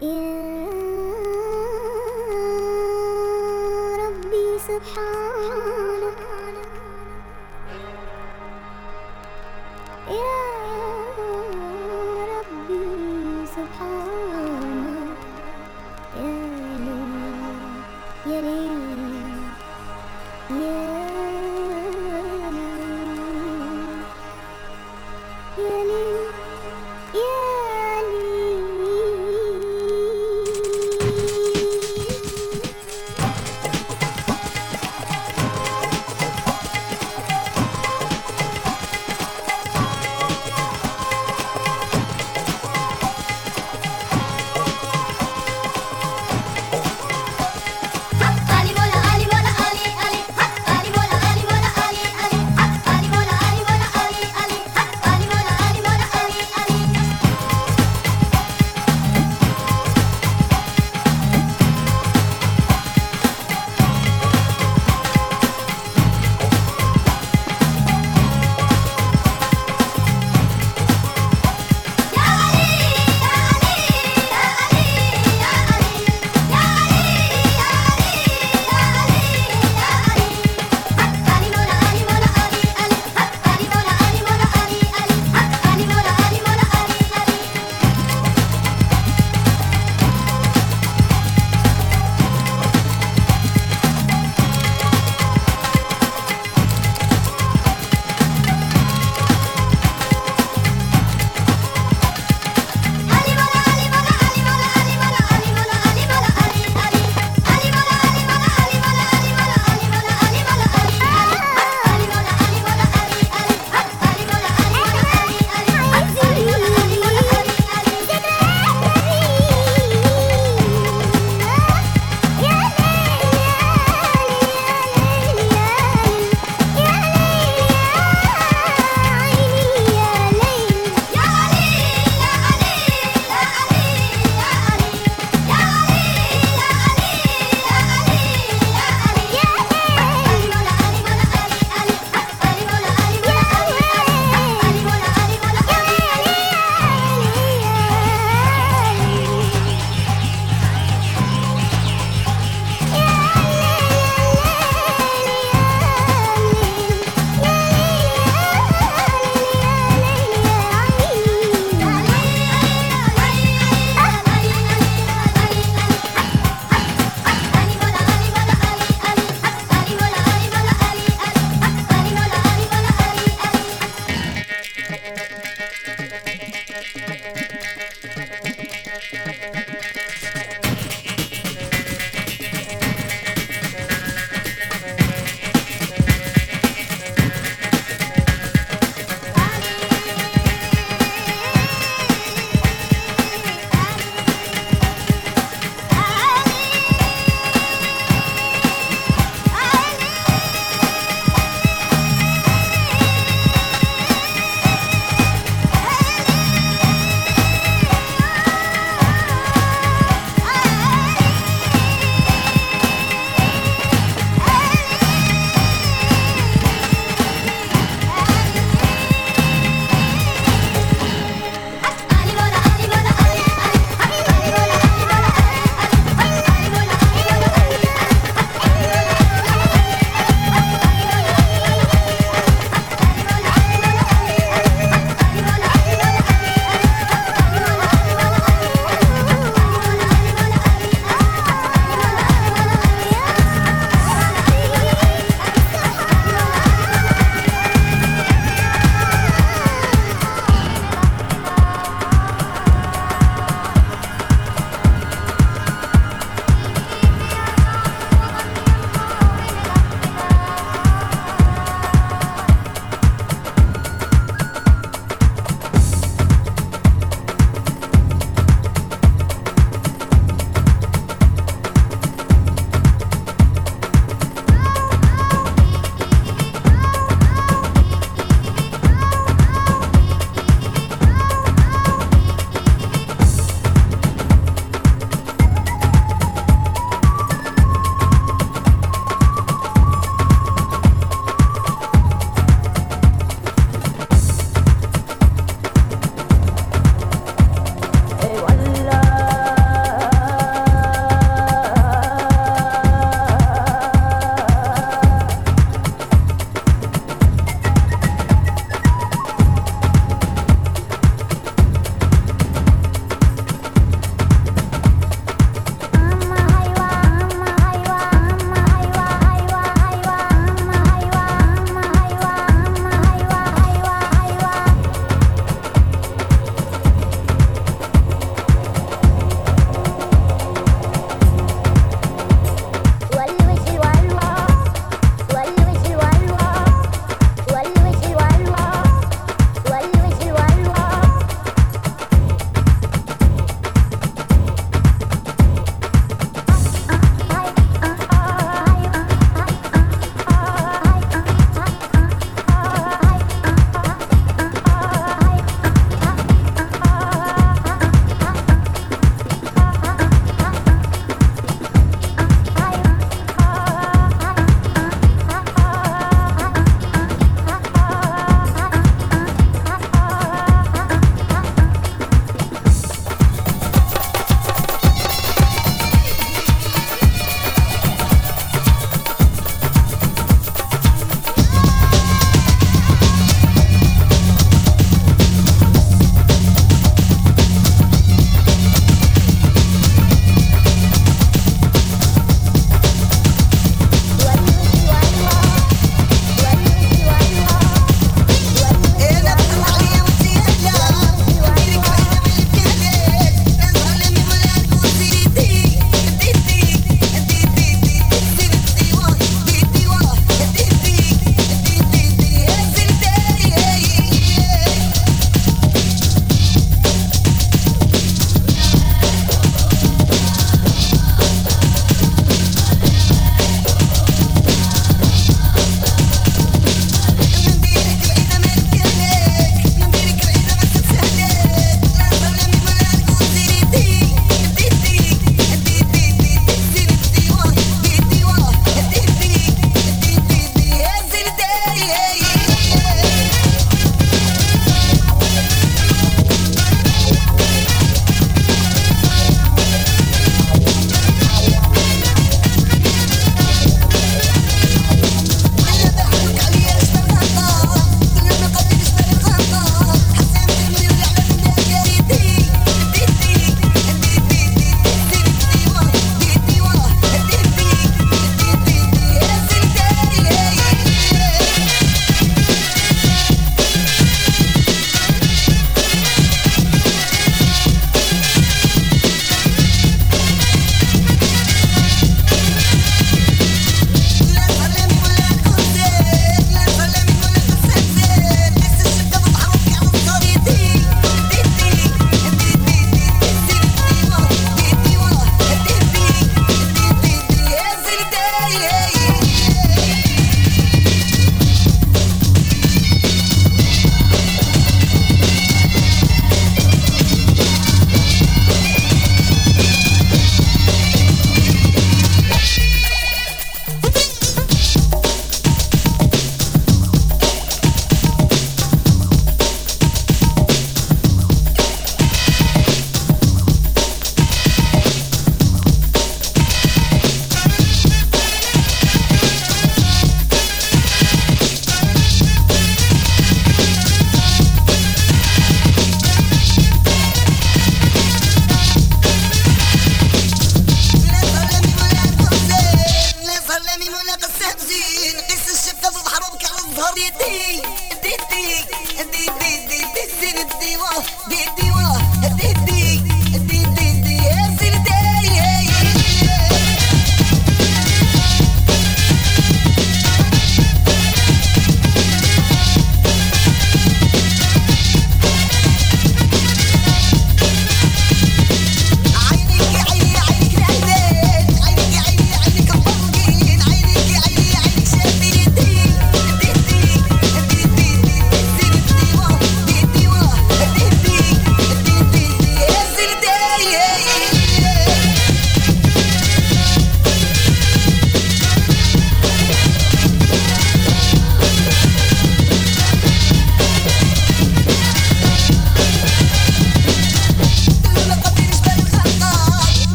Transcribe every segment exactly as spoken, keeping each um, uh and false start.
يا ربي سبحانك يا ربي سبحانك يا ليل يا ليل يا ليل يا ليل يا ليل Ali bola ali bola ali ali ali bola ali bola ali ali ali bola ali bola ali ali ali ali bola ali bola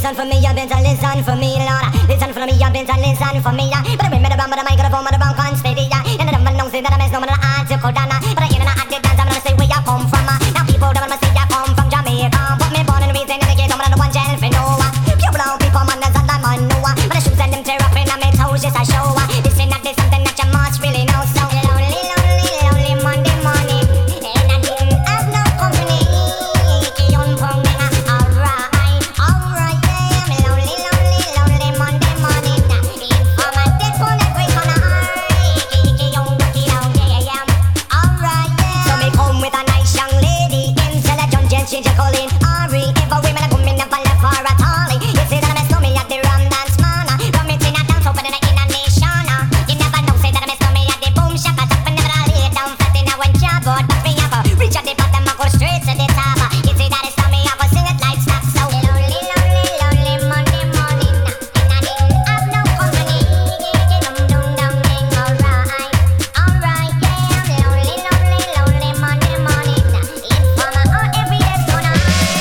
listen for me, you better listen for me, Lord. Listen for me, you better listen for me. But I bring me the bum, but I mic, the phone, but the bum can't steady. And I don't know, say that I miss no man, I to go down. But I hear that I did dance, I'm gonna say where you come from. Now people don't wanna say you come from Jamaica. Put me born and raised in the ghetto, but I don't want jail for no. Pure blood people, man, that's all I'm on, no. But the shoes and them tear up in my toes, just a show. This is not this something that you must really know. So lonely, lonely, lonely Monday morning, and I didn't have no company. Keep on pumping, alright, alright, yeah. I'm lonely, lonely, lonely Monday morning. If I'm a dead for every corner, keep on looking out, yeah, yeah, alright, yeah. So me come with a nice young lady, intelligent, gent, she just calling Ari. If a women are coming up and left for a tally, you see that I miss me at the rum dance man. Rum it in a dance, open in a in a nation. You never know, say that I miss me at the boom shop. I top and never lay down flat in a one job, but back me up. Reach at the bottom, I go straight to the top. You see that it's me, I go sing it like stop. So lonely, lonely, lonely Monday morning, and I didn't have no company. Dum dum dum ding, alright, alright, yeah. I'm lonely, lonely, lonely Monday morning. If I'm a out every day's gonna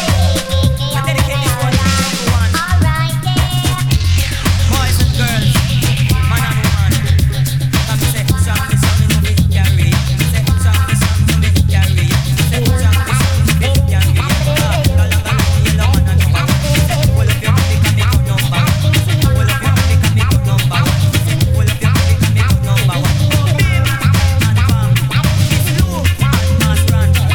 I dedicate this one to everyone. alright, yeah. Boys and girls, man and woman. Come say, song me, song me, no me carry. Say, song me, song me, no me carry. Say, song me, song me, no me carry. Go along and yellow man and number one. Say, pull up your body, come me go number one. Say, pull up your body, come me go number one. Say, pull up your body, come me go number one. Bim and bam, it's slow and mass run. Bim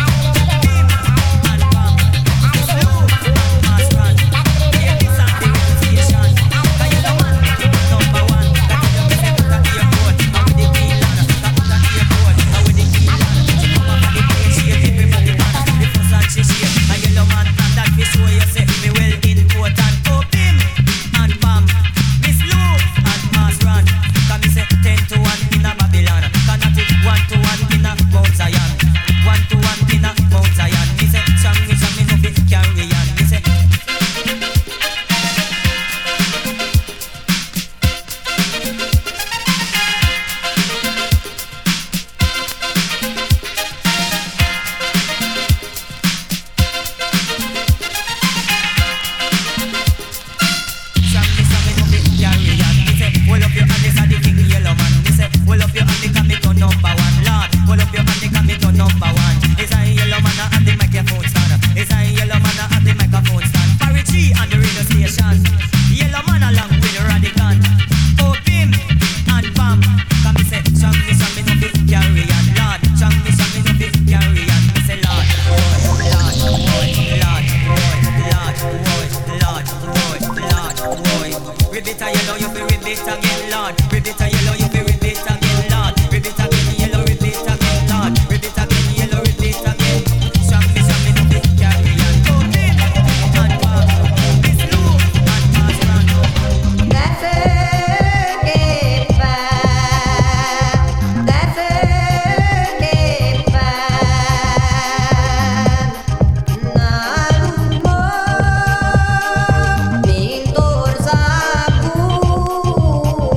and bam, it's slow and mass run. Yeah, this and the reputation. Cause you the man, number one. That you me say put a airport, and with the green land. That put a airport, and with the green land. She come up and the plane, she a everybody man. The first and she shake, a yellow man, and that fish show you say me well important. Oh, bim and bam, Miss Lou and mass run. Cause me say ten to one in a Babylon. Cause not it one to one in a Mount Zion. One to one in a Mount Zion. Me say, song me, song me, no fit carry on. Me say, song me, song me, no fit carry on. Me say, hold up your hand, this a the king yellow man. Me say, hold up your hand, they can me go number one. Lord, hold up your hand, they can me go number one. It's a yellow man at the microphone stand. It's a yellow man at the microphone stand. Barry G on the radio station. Yellow man along with Radican. Oh, bim and bam. Come me say, song me, song me, no fit carry on. Lord, song me, song me, no fit carry on. Me say, Lord, Lord, Lord, Lord, Lord, Lord, Lord, Lord, Lord, Lord. Ribbit a yellow, you feel ribbit again, Lord. Ribbit a yellow, you feel ribbit again, Lord. Ribbit again, yellow, ribbit again, Lord. Ribbit again, yellow, ribbit again. Song me, song me, no fit carry on. Oh, bim and bam. Miss Lou and mass run. That's it, get back. That's it, get back. Narumo, pintor sa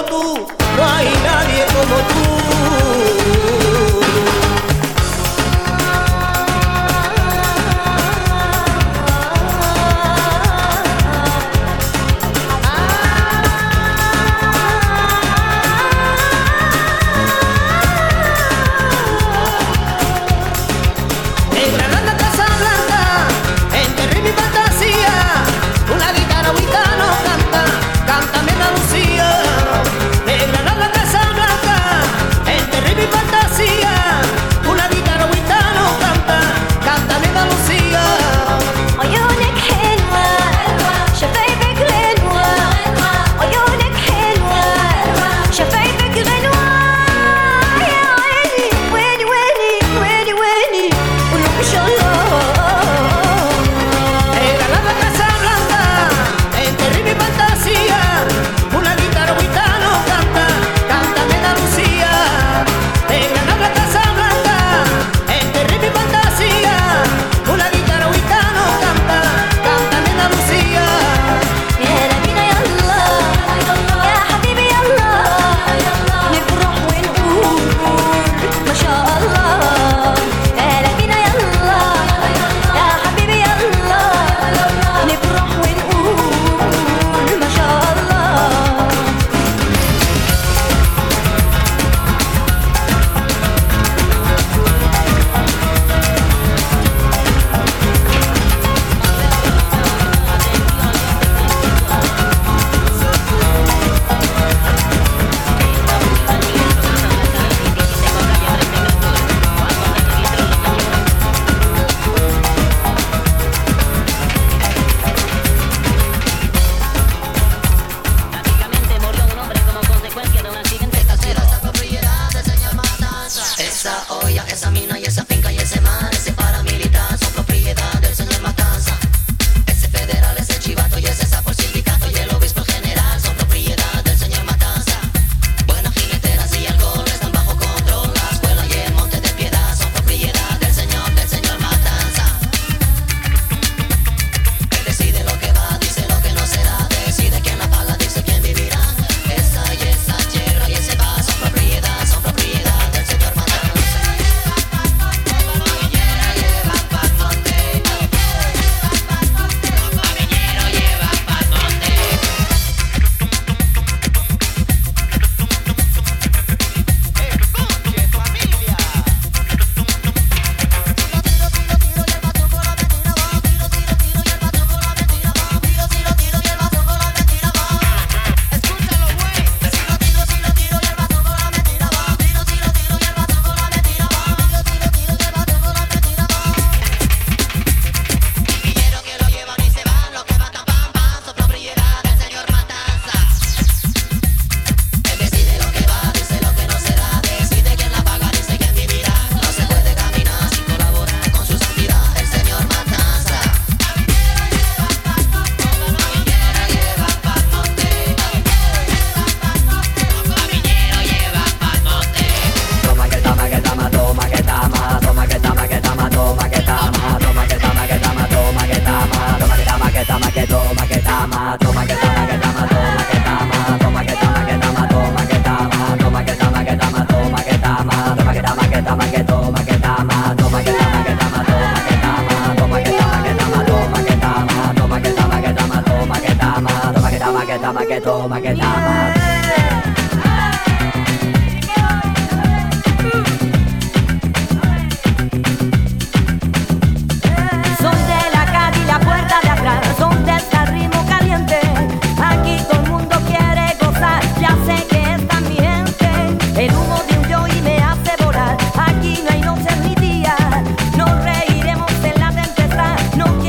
tú, no hay nadie como tú.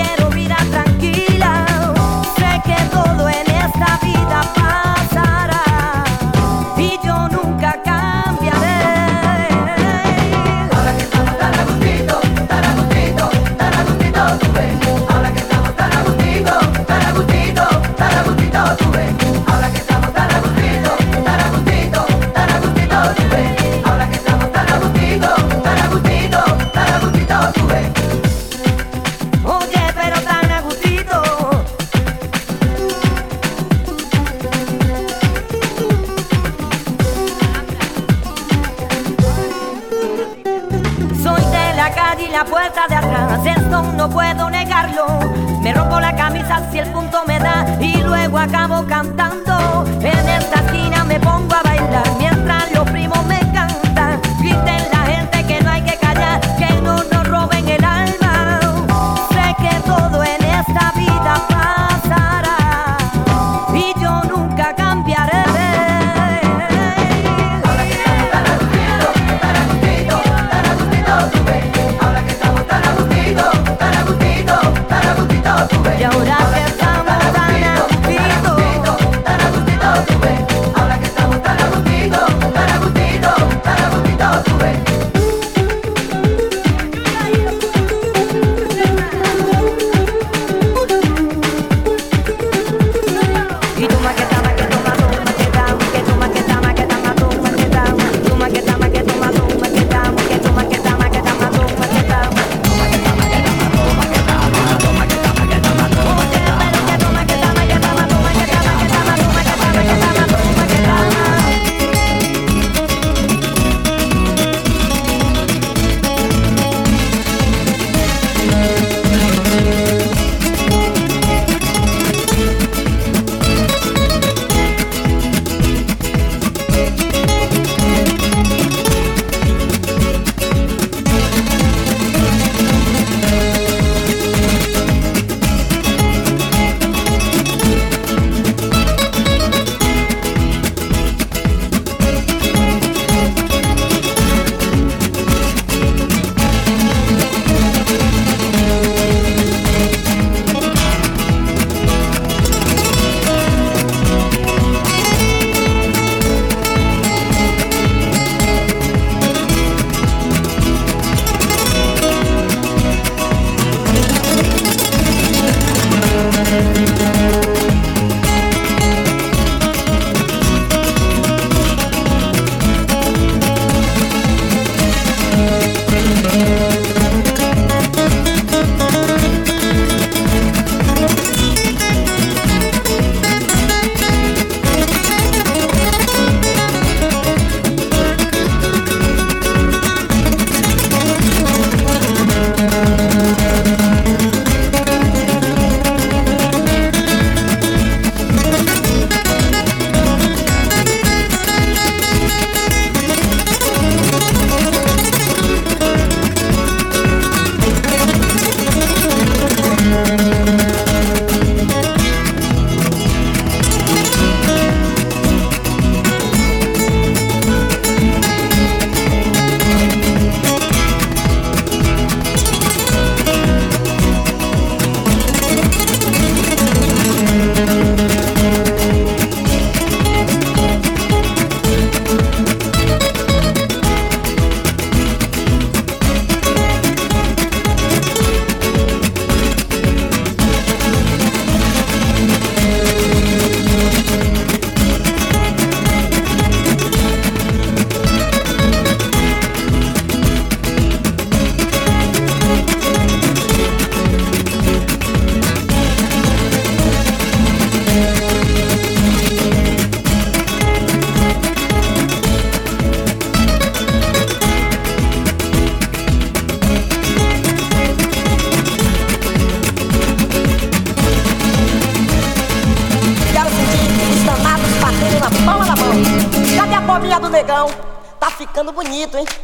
Tranquila, sé que todo en esta vida pasará. la puerta de atrás, esto no puedo negarlo. Me rompo la camisa si el punto me da y luego acabo cantando. En esta esquina me pongo a bailar mientras los primos me cantan. Griten la gente que no hay que callar, que no nos roben el alma. Sé que todo en esta vida pasará y yo nunca cambiaré. Y ahora que estamos tan a gustito, tan a gustito, tú ves. Ahora que estamos tan a gustito, tan a gustito, tan a gustito, tú ves. Y tú maqueta, maqueta, maqueta, maqueta, maqueta, maqueta, maqueta, maqueta, tú maqueta, maqueta, maqueta, maqueta, maqueta, maqueta, maqueta, maqueta. Tá ficando bonito, hein?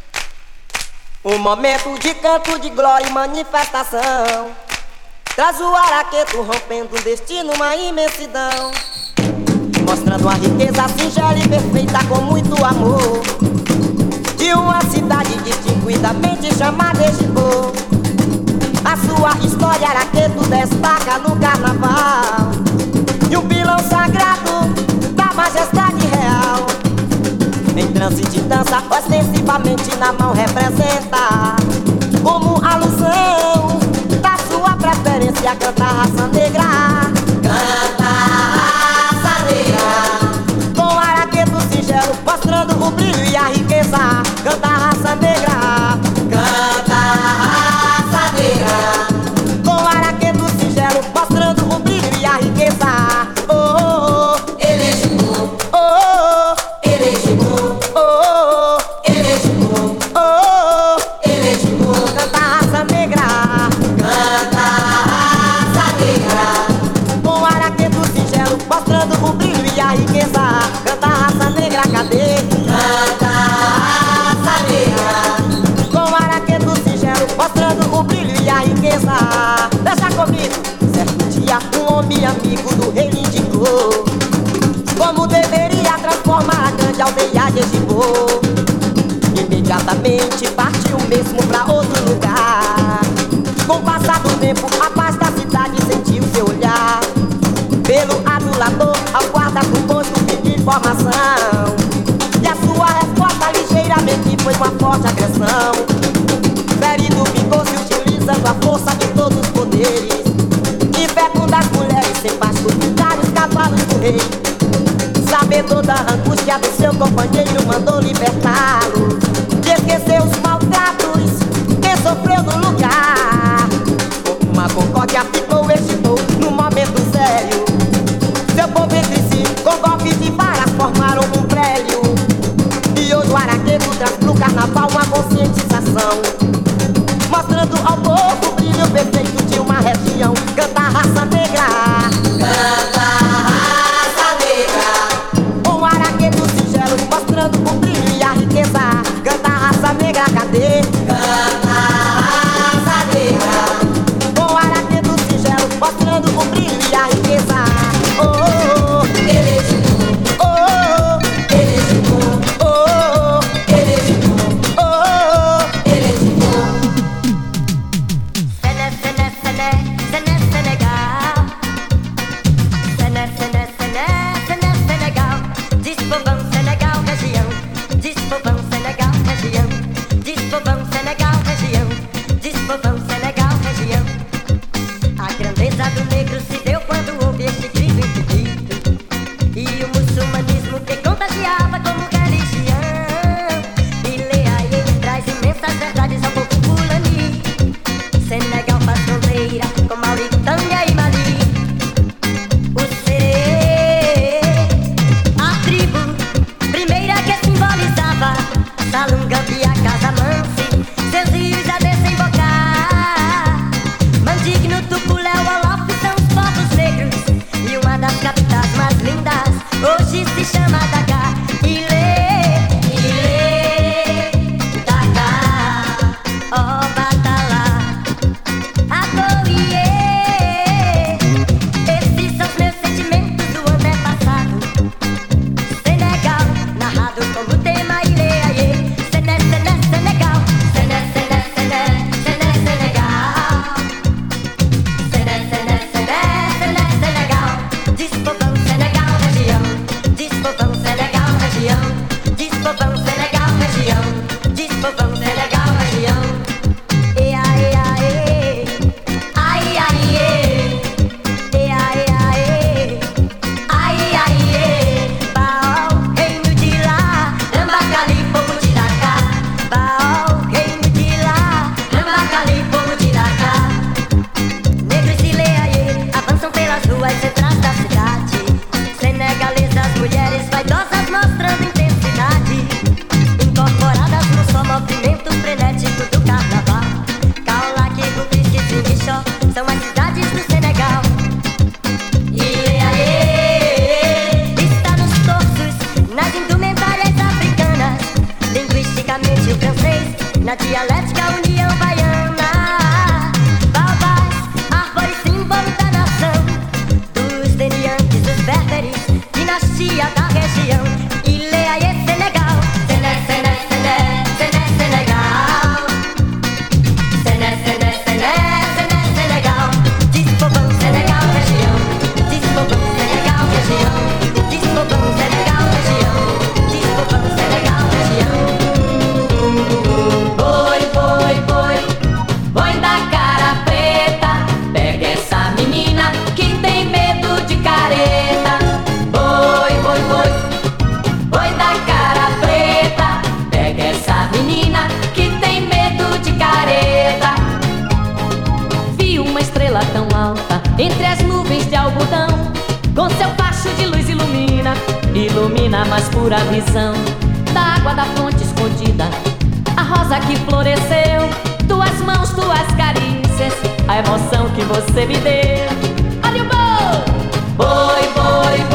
Um momento de canto, de glória e manifestação. Traz o araqueto rompendo um destino, uma imensidão. Mostrando a riqueza singela e perfeita com muito amor de uma cidade distinguidamente chamada Egipô. A sua história araqueto destaca no carnaval e um pilão sagrado da majestade real. Em trance de dança, ostensivamente na mão representa como alusão da sua preferência. Canta a raça negra, canta a raça negra, com araqueto singelo mostrando o brilho e a riqueza. Canta a raça negra, canta a raça negra, com araqueto singelo mostrando o brilho e a riqueza. Oh, oh, oh, Elegibu, oh, oh, Elegibu, oh, oh, Elegibu, oh, oh, Elegibu, canta mostrando o brilho e a riqueza. Canta a raça negra, cadê? Canta a raça negra. Com araqueto singelo, mostrando o brilho e a riqueza. Deixa comigo. Certo dia um homem amigo do rei lhe indicou como deveria transformar a grande aldeia de Egipô. Imediatamente partiu mesmo pra outro lugar. Com o passar do tempo, a paz da cidade sentiu seu olhar. Pelo adulador, ao guarda do posto pediu informação. E a sua resposta ligeiramente foi uma forte agressão. Ferido vingou-se utilizando a força de todos os poderes. E fecunda as mulheres sem pasto, os cavalos do rei. Sabedor da angústia do seu companheiro, mandou libertá-lo. E esqueceu os maltratos que sofreu no lugar. Com uma concórdia ficou, excitou no momento sério. Seu povo entre si, com golpes de varas, formaram um prédio. E hoje o araqueto traz pro carnaval uma conscientização, mostrando ao povo o brilho perfeito de uma região. Canta a raça negra, canta a raça negra. Com o araqueto singelo, mostrando o brilho e a riqueza. Canta a raça negra, cadê? Canta a raça negra. Com o araqueto singelo, mostrando o brilho e a riqueza. Oh, oh, oh, ele é oh, oh, ele é oh, oh, ele é oh, oh, ele é Sené, sené, sené, sené, Senegal. Sené, sené, sené, sené, Senegal. Diz povão Senegal, região. Diz povão Senegal, região. Diz povão Senegal, região. Diz povão Senegal, região. A grandeza do negro se deu quando houve este grito infinito. E o muçulmanismo que contagiava como religião. E leia ele traz imensas verdades ao povo fulani. Senegal faz fronteira com Mauritânia e Mali. O Serê, a tribo primeira que simbolizava Salunga, Bia, Casamance, seus rios a desembocar. Mandigno, Tupuléu, Olof são os povos negros. E uma das capitais mais lindas hoje se chama Dakar. Ilê, Ilê, Dakar, ó Batalá, Agoiê. Esses são os meus sentimentos do antepassado. Senegal, narrado como tema Ilê, Aiê. Sené, Sené, Senegal. Sené, Sené, Sené, Sené, Senegal. Sené, Sené, Sené, Sené, Senegal. Diz povão Senegal, região. Diz povão Senegal, região. Diz povão Senegal, região. Diz povão Senegal, região. E ai, ai, ai, ai, e ai, ai, ai, ai, Baal, reino de lá, Rambacali, povo de Dakar. Baal, reino de lá, Rambacali, povo de Dakar. Negros de Leaie avançam pelas ruas centrais da cidade. Senegalesas, mulheres vaidosas mostrando intensidade, incorporadas no só movimento frenético do carnaval. Kaolack, Rufisque e Ziguinchor são as cidades do Senegal. E Leaie está nos torsos, nas indumentárias africanas. Linguisticamente o francês, na dialética união baiana. Baobás, árvore símbolo da nação, dos deniantes, dos berberes, dinastia da região. Ileaie, Senegal. Sené, Sené, Sené, Sené, Senegal. Sené, Sené, Sené, Sené, Senegal. Diz povão Senegal, região. Diz povão Senegal, região. Diz povão Senegal, região. Diz povão Senegal, região. Boi, boi, boi, boi da cara preta, pega essa menina que tem medo de careta. Boi, boi, boi, boi da cara preta, pega essa menina que tem medo de careta. Vi uma estrela tão alta entre as nuvens de algodão, com seu facho de luz ilumina, ilumina a mais pura visão da água da fonte escondida, a rosa que floresceu, tuas mãos, tuas carícias, a emoção que você me deu. Olha o boi! Boi, boi, boi.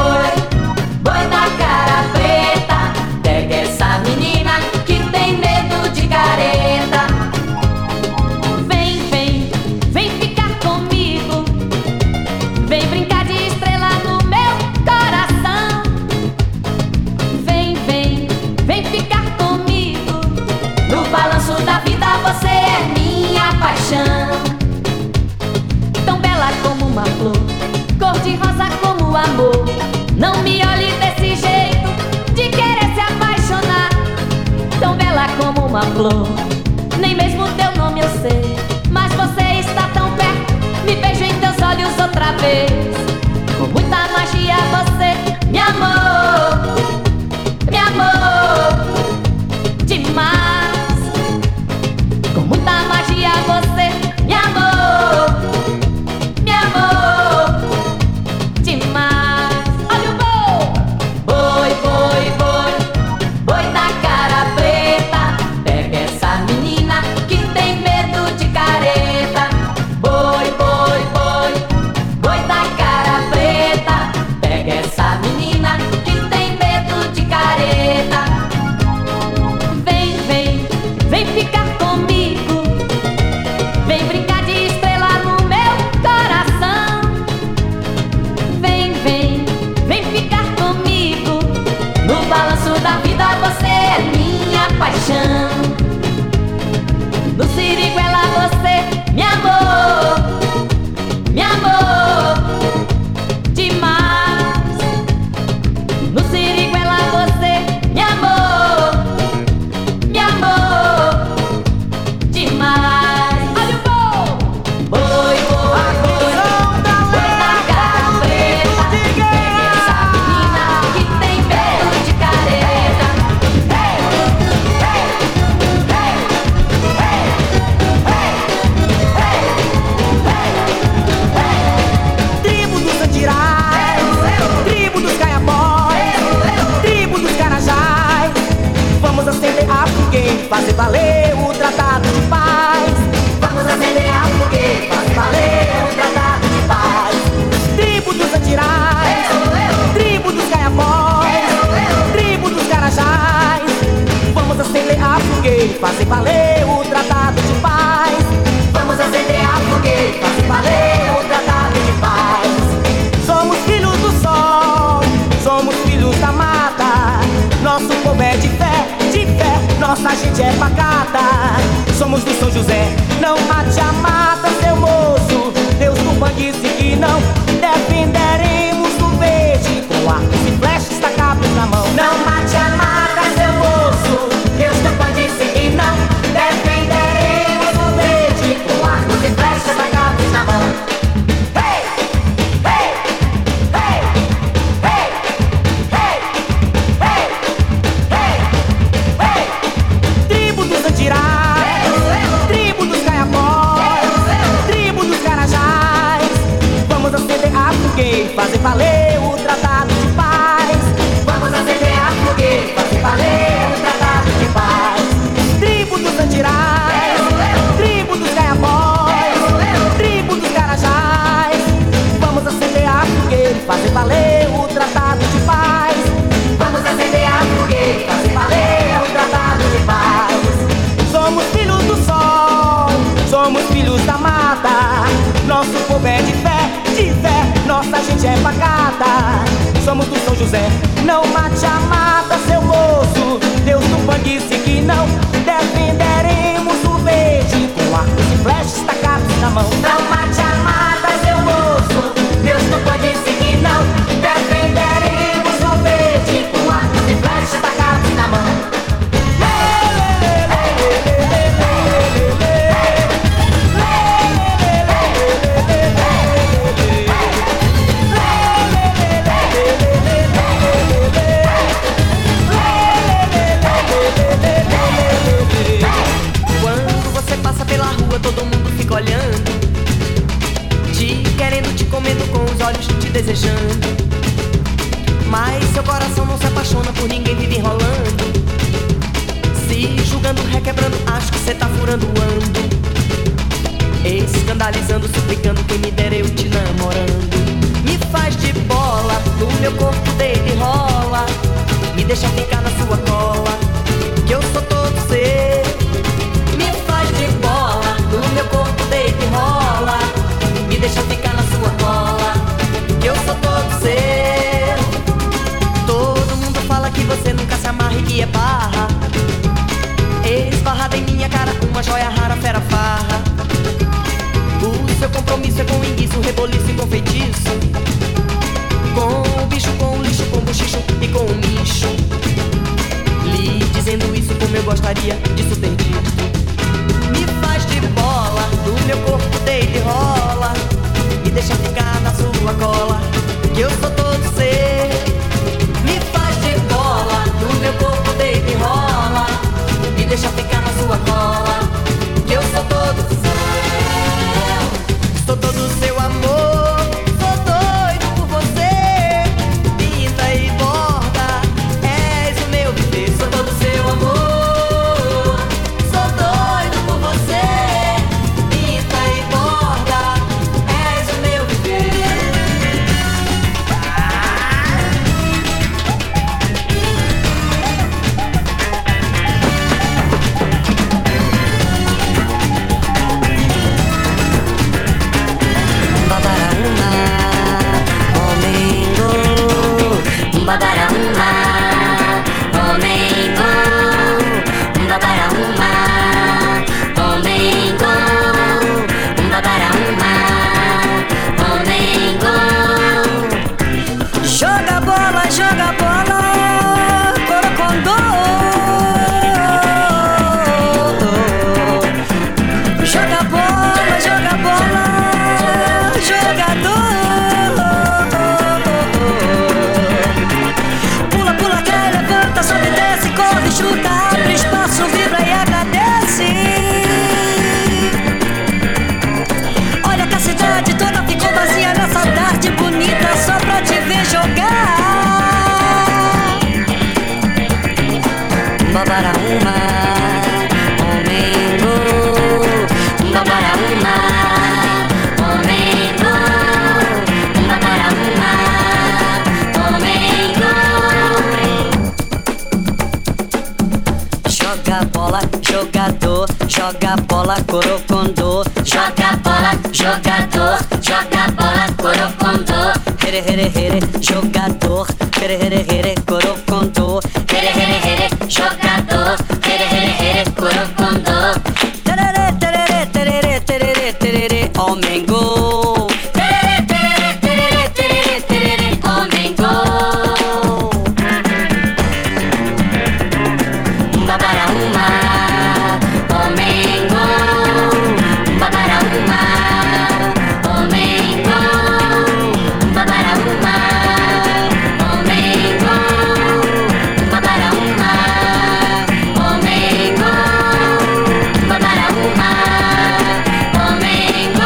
amor, não me olhe desse jeito de querer se apaixonar. Tão bela como uma flor, nem mesmo teu nome eu sei, mas você está tão perto, me vejo em teus olhos outra vez. Com muita magia você me amou, me amou demais. Com muita magia você me amou, me amou demais. Olha o boi, boi, boi, boi, boi da cara preta. Pega essa menina que tem medo de careta. Boi, boi, boi, boi da cara preta. Pega essa menina que tem medo de careta. Vem, vem, vem ficar comigo. Vem brincar de estrela no meu coração. Vem, vem, vem ficar comigo. No balanço da vida você é minha paixão. No Siriguela você me amou, me amou demais. No Siriguela você me amou, me amou demais. Olha o boi, boi, boi, boi, boi da cara preta. Pega essa menina que tem medo de careta. Hey, hey, hey, hey, hey, hey, hey. Tribo dos andirais, tribo dos caiapós, tribo dos carajás. Vamos acender a fogueira, fazer valer o tratado de paz. Vamos acender a fogueira, fazer valer o tratado de paz. Tribo dos andirais, tribo dos caiapós, tribo dos carajás. Vamos acender a fogueira, fazer valer o tratado de paz. Vamos acender a fogueira, fazer valer o tratado de paz. Somos filhos do sol, somos filhos da mata. Nosso povo é de fé, de fé, nossa gente é pacata. Somos do São José, não mate a mata, seu moço. Deus do Pan disse que não defenderemos o verde com arcos e flechas tacados na mão. Não mate a mata, seu moço. Deus do Pan disse que não defenderemos o verde com arcos e flechas tacados na mão. Hey, hey, hey, hey, hey, hey, hey, hey. Tribo dos andirais, tribo dos caiapós, tribo dos carajás. Vamos acender a fogueira, fazer valer o tratado de paz. Vamos acender a fogueira, fazer valer o tratado de paz. Tribo dos andirais, tribo dos caiapós, tribo dos carajás. Vamos acender a fogueira, fazer valer o tratado de paz. Vamos acender a fogueira, fazer valer o tratado de paz. Somos filhos do sol, somos filhos da mata. Nosso povo é de fé, de fé, nossa gente é pacata. Somos do São José, não mate a mata, seu moço. Deus do Pan disse que não defenderemos o verde com arcos e flechas tacados na mão. Não mate a mata, seu moço. Deus do Pan disse que não defenderemos o verde com arcos e flechas tacados na mão. Quando você passa pela rua, todo mundo fica olhando, te querendo, te comendo com os olhos, te desejando. Mas seu coração não se apaixona por ninguém, vive enrolando, se julgando, requebrando, acho que cê tá furando o ando, escandalizando, suplicando, quem me dera eu te namorando. Me faz de bola, no meu corpo deita e rola, me deixa ficar na sua cola, que eu sou todo seu. Me faz de bola, no meu corpo deita e rola, me deixa ficar na sua cola, que eu sou todo seu. Todo mundo fala que você nunca se amarra e que é barra, esbarrada em minha cara, uma joia rara, fera farra. O seu compromisso é com enguiço, reboliço e com feitiço, com gostaria disso ter dito. Me faz de bola, do meu corpo deita e rola. Me deixa ficar na sua cola, que eu sou todo seu. Me faz de bola, do meu corpo deita e rola. Me deixa ficar na sua cola, que eu sou todo seu. Sou todo seu amor, sou doido por você. Pinta e borda, és o meu viver. Sou todo seu amor, sou doido por você. Pinta e borda, és o meu viver. Babarauma, Omengo, Babarauma, Omengo, Babarauma, Omengo. Joga bola, joga bola, corocondô. Joga bola, joga bola, jogador. Pula, pula, cai, levanta, sobe, desce, corre, chuta, abre espaço, vibra e agradece. Olha que a cidade toda ficou vazia nessa tarde bonita só pra te ver jogar. Babarauma, Omengo, Babarauma, Omengo, Babarauma, Omengo. joga bola, jogador, joga bola, corocondô. Joga bola, jogador, joga bola, corocondô. Here, here, here, jogador, here, here, here, corocondô. Here, here, here, jogador, here, here, here, corocondô. Tererê, tererê, tererê, tererê, tererê, Omengo. Tererê, tererê, tererê, tererê, tererê, Omengo. Babarauma, Omengo, Babarauma, Omengo, Babarauma, Omengo, Babarauma, Omengo, Babarauma, Omengo.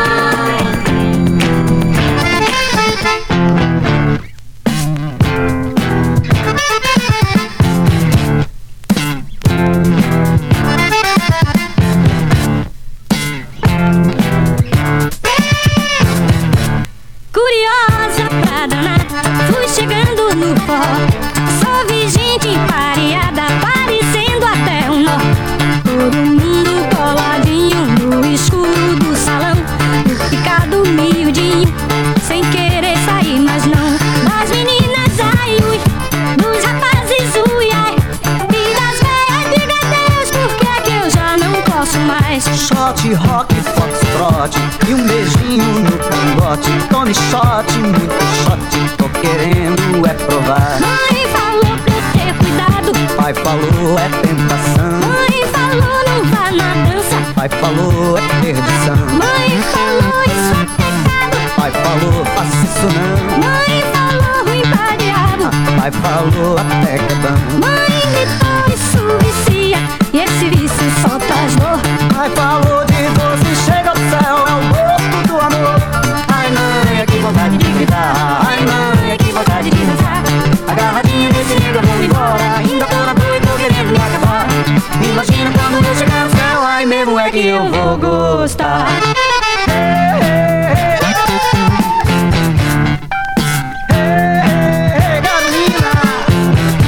Curiosa pra danar, fui chegando no pó. Só vi gente pareada, parecendo até um nó. Todo mundo coladinho no escuro do salão. Eu ficado miudinho, sem querer sair, mas não. Das meninas, ai, ui, dos rapazes, ui, ai. E das velhas, diga Deus, por que é que eu já não posso mais? Shot, rock, foxtrot e um beijinho no cangote. Tome shot, muito shot, tô querendo é provar. Mãe falou pra eu ter cuidado. Pai falou é tentação. Mãe falou não vá na dança. Pai falou é perdição. Mãe falou isso é pecado. Pai falou faça isso não. Mãe falou ruim pra diabo. Pai falou até que é bom. Mãe gritou isso vicia, e esse vício só traz dor. Pai falou de doce chega ao céu, é o gosto do amor. Ai mãe, que vontade de gritar. Ai mãe, que vontade de dançar. Agarradinho desse negro, vou embora. Ainda tô na boa e tô querendo me acabar. Imagina quando eu chegar no céu. Ai mesmo é que eu vou gostar. Hey, hey, hey. Hey, hey, hey, Carolina.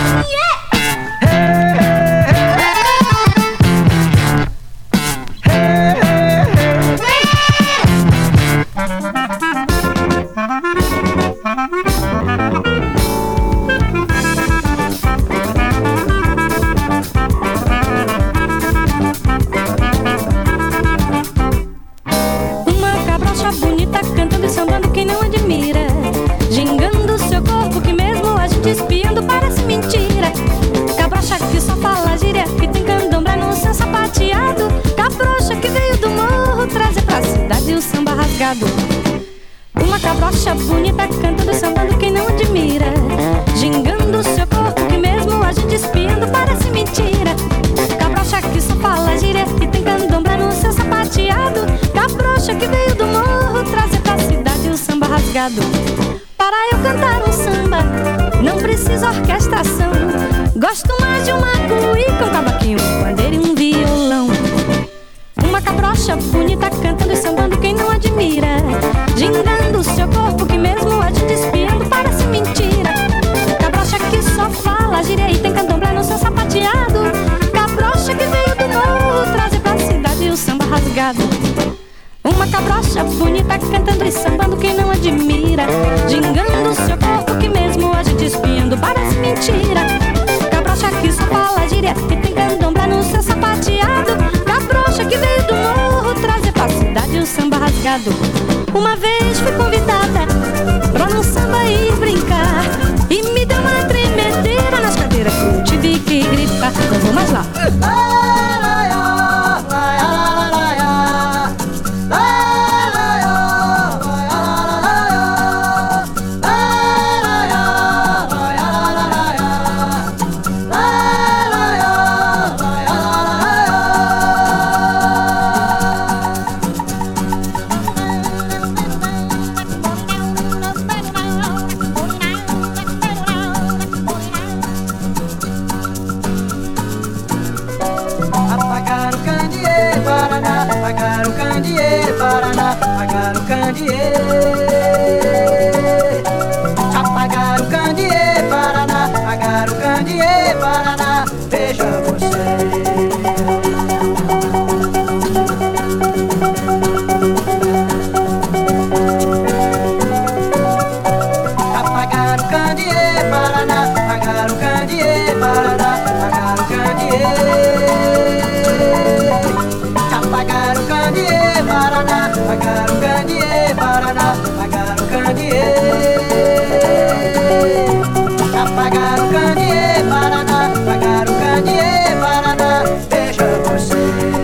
Gosto mais de uma cuíca, um cavaquinho, um pandeiro e um violão. Uma cabrocha bonita cantando e sambando, quem não admira? Gingando o seu corpo que mesmo a gente espiando parece mentira. Cabrocha que só fala gíria e tem candomblé no seu sapateado. Cabrocha que veio do morro trazer pra cidade o samba rasgado. Uma cabrocha bonita cantando e sambando, quem não admira? Gingando o seu corpo que mesmo a gente espiando parece mentira. Cabrocha que só fala gíria e tem candomblé no seu sapateado. Cabrocha que veio do morro trazer pra cidade o samba rasgado. Uma vez fui convidada pra num samba ir brincar e me deu uma tremedeira nas cadeiras que eu tive que gritar. Não vou mais lá. Apagar o candeeiro, Paraná, apagar o candeeiro, Paraná, veja você. Apagar o candeeiro, Paraná, apagar o candeeiro, Paraná, apagar o candeeiro. Apagar o candeeiro, Paraná, apagar o candeeiro, Paraná, apagar o candeeiro. Apagar o candeeiro, Paraná, apagar o candeeiro, Paraná, veja você.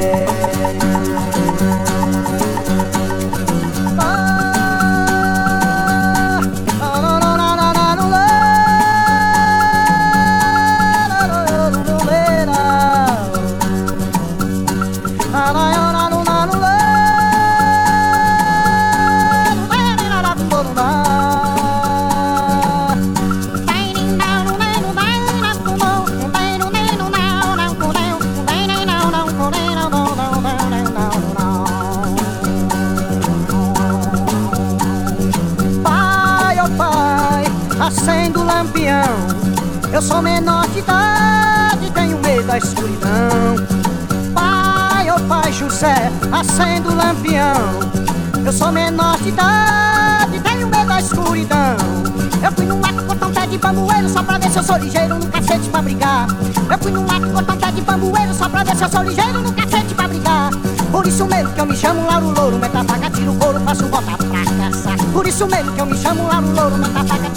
Acendo o lampião, eu sou menor de idade, tenho medo da escuridão. Pai, ô pai José, acendo o lampião, eu sou menor de idade, tenho medo da escuridão. Eu fui no mato cortar um pé de bambueiro só pra ver se eu sou ligeiro no cacete pra brigar. Eu fui no mato cortar um pé de bambueiro só pra ver se eu sou ligeiro no cacete pra brigar. Por isso mesmo que eu me chamo Lauro Louro, meta faca, tiro couro, faço botar pra caçar. Por isso mesmo que eu me chamo Lauro Louro, meta faca,